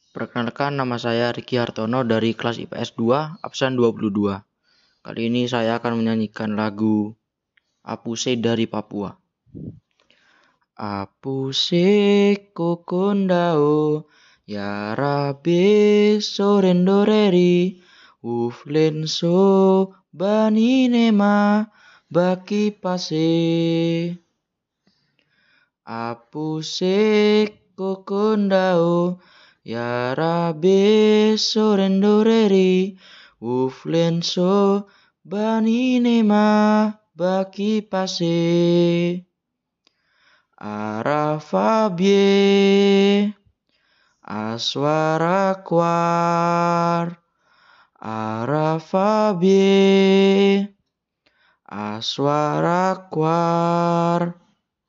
Perkenalkan, nama saya Riki Hartono dari kelas IPS 2, absen 22. Kali ini saya akan menyanyikan lagu Apuse dari Papua. Apuse kokondao, yarabe sorendoreri, uflenso baninema baki pase. Apuse kokondao, yarabe sorendoreri, uflenso baninema baki pase. Arafabie aswara kwar, arafabie aswara kwar,